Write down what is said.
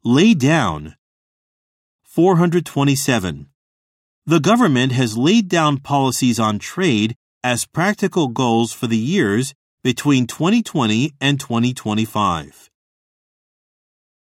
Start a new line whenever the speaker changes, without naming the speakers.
Lay down. 427. The government has laid down policies on trade as practical goals for the years between 2020 and 2025.